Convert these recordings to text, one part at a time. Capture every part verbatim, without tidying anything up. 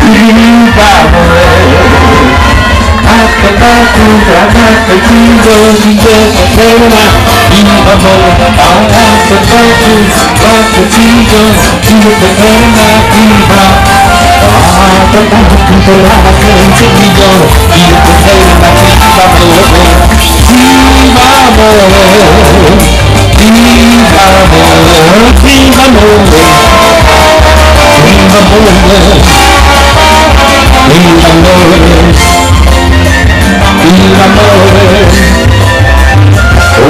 viva amore. Ascoltato, guardate, vivo, vivo, vivo, viva amore. Ascoltato, guardate, vivo, vivo, viva. Ascoltato, guardate, vivo, vivo, viva amore. Viva amore, viva amore, viva amore, viva amore, viva amore. Viva amore, oh,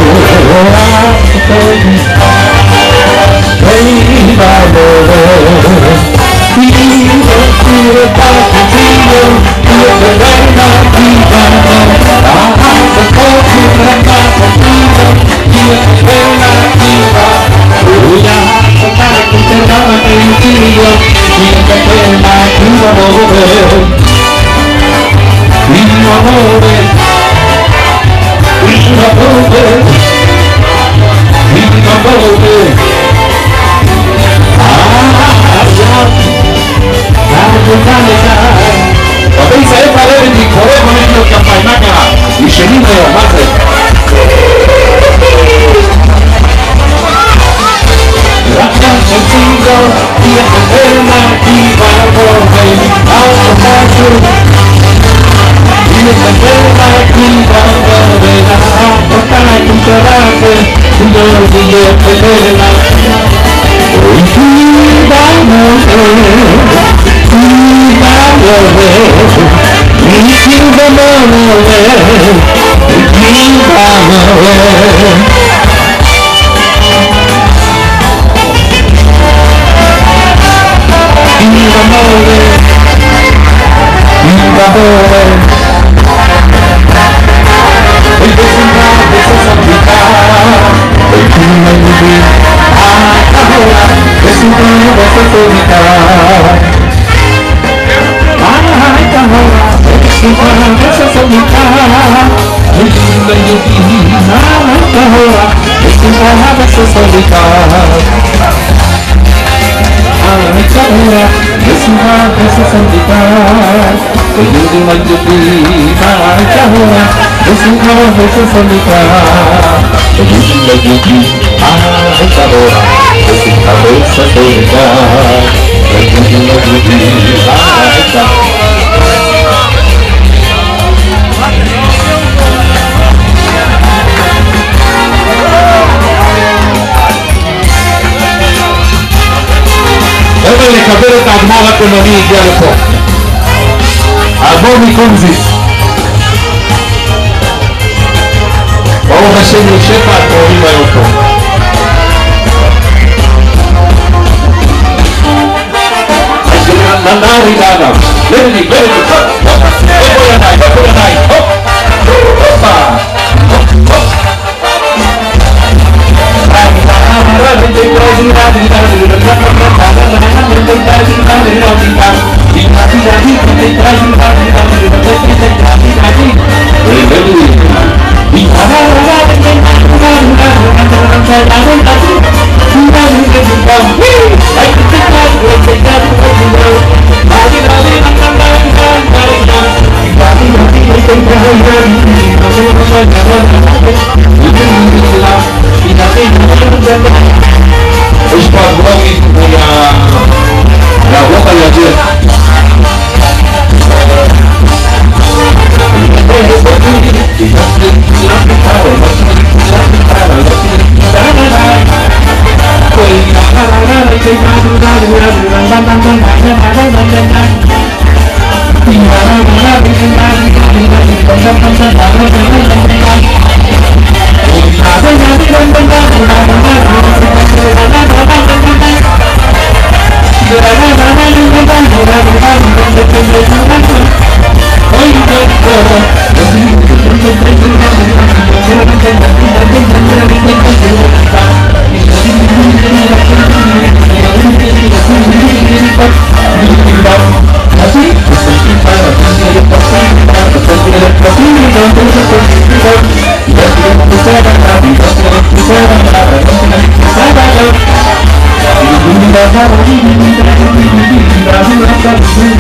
viva amore, vivo, vivo, tanto vivo, io per reina viva amore, ah, se posso ragazzo vivo, io per reina viva, oh, ya, tanto te la vivo, io per reina viva amore. Viva amore, viva amore, viva amore. Ah, già, dai, dai. Vabbè, sai parlare di colore come io che fai macchina, di scenino, madre. Ragazzo figo, io per la viva amore, automato. Io per la viva amore, la portare in terapia, io io per la viva amore, viva amore, viva amore, viva amore. Viva amore, viva amore. E questa questa santità, e tu mi dici, ah, ora, questo è questa santità. Ah, ora, questo è questa santità. E tu mi dici, ah, ora, questo è questa santità. Ora, nessuna questa santità, e io ti voglio prima, ora, nessuna questa santità, e io ti voglio prima, ora, nessuna questa santità, e io ti voglio prima, Ele cabelo tá mal a economia de algo. Agora como diz. Vamos mexer no chefe para correr mais um pouco. Na na rigada. Lele, lele. Vai andar, vai andar. Opa. Os padrões da roupa e a dieta. Brasil,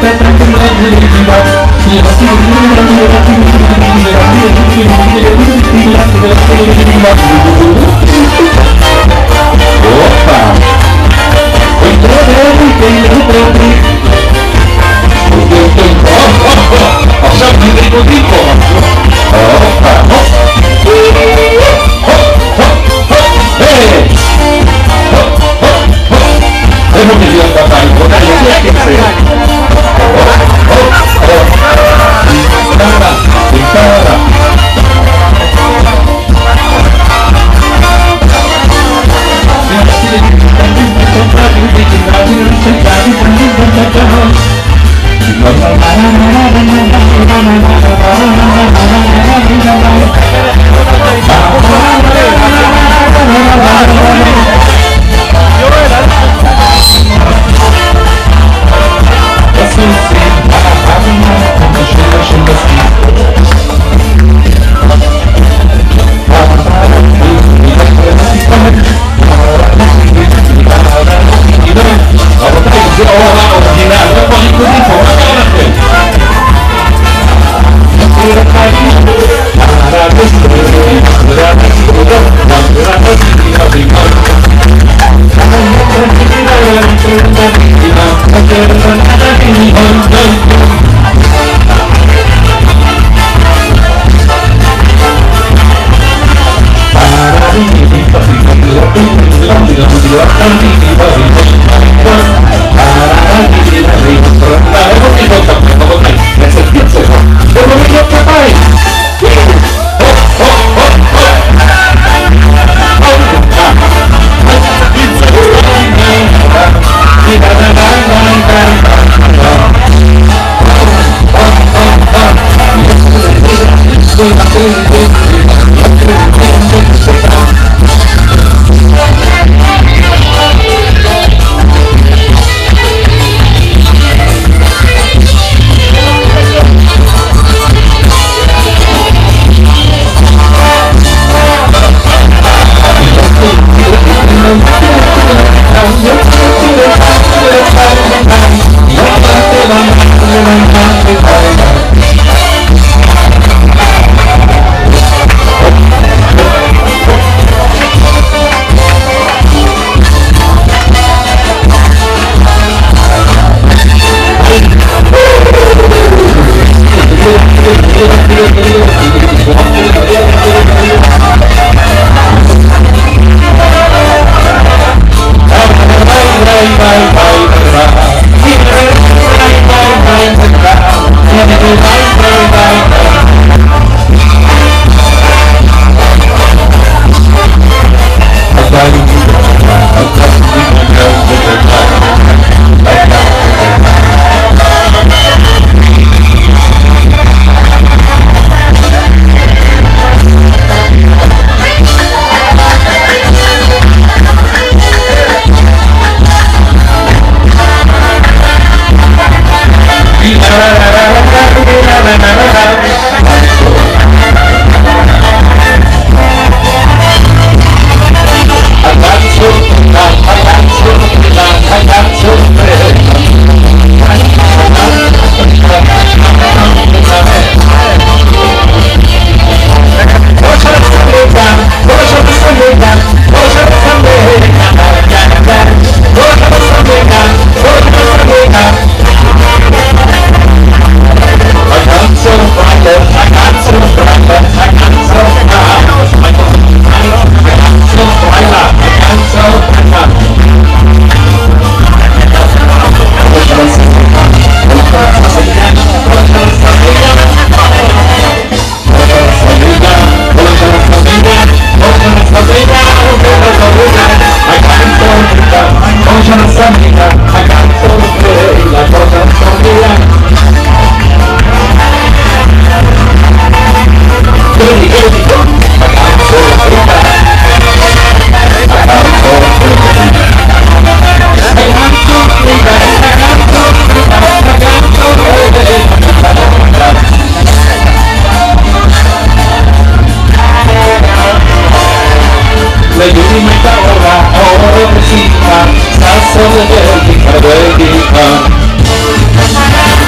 Sta solo per di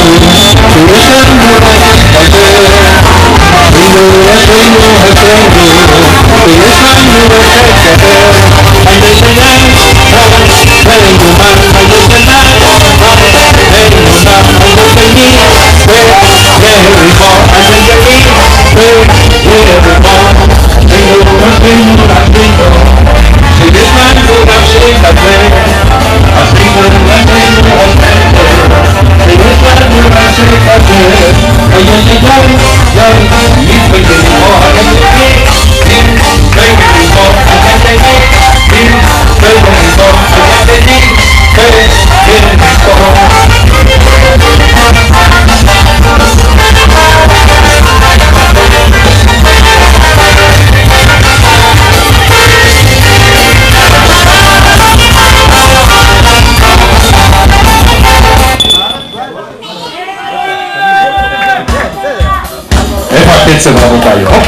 Fortezza bravo taglio. Oh,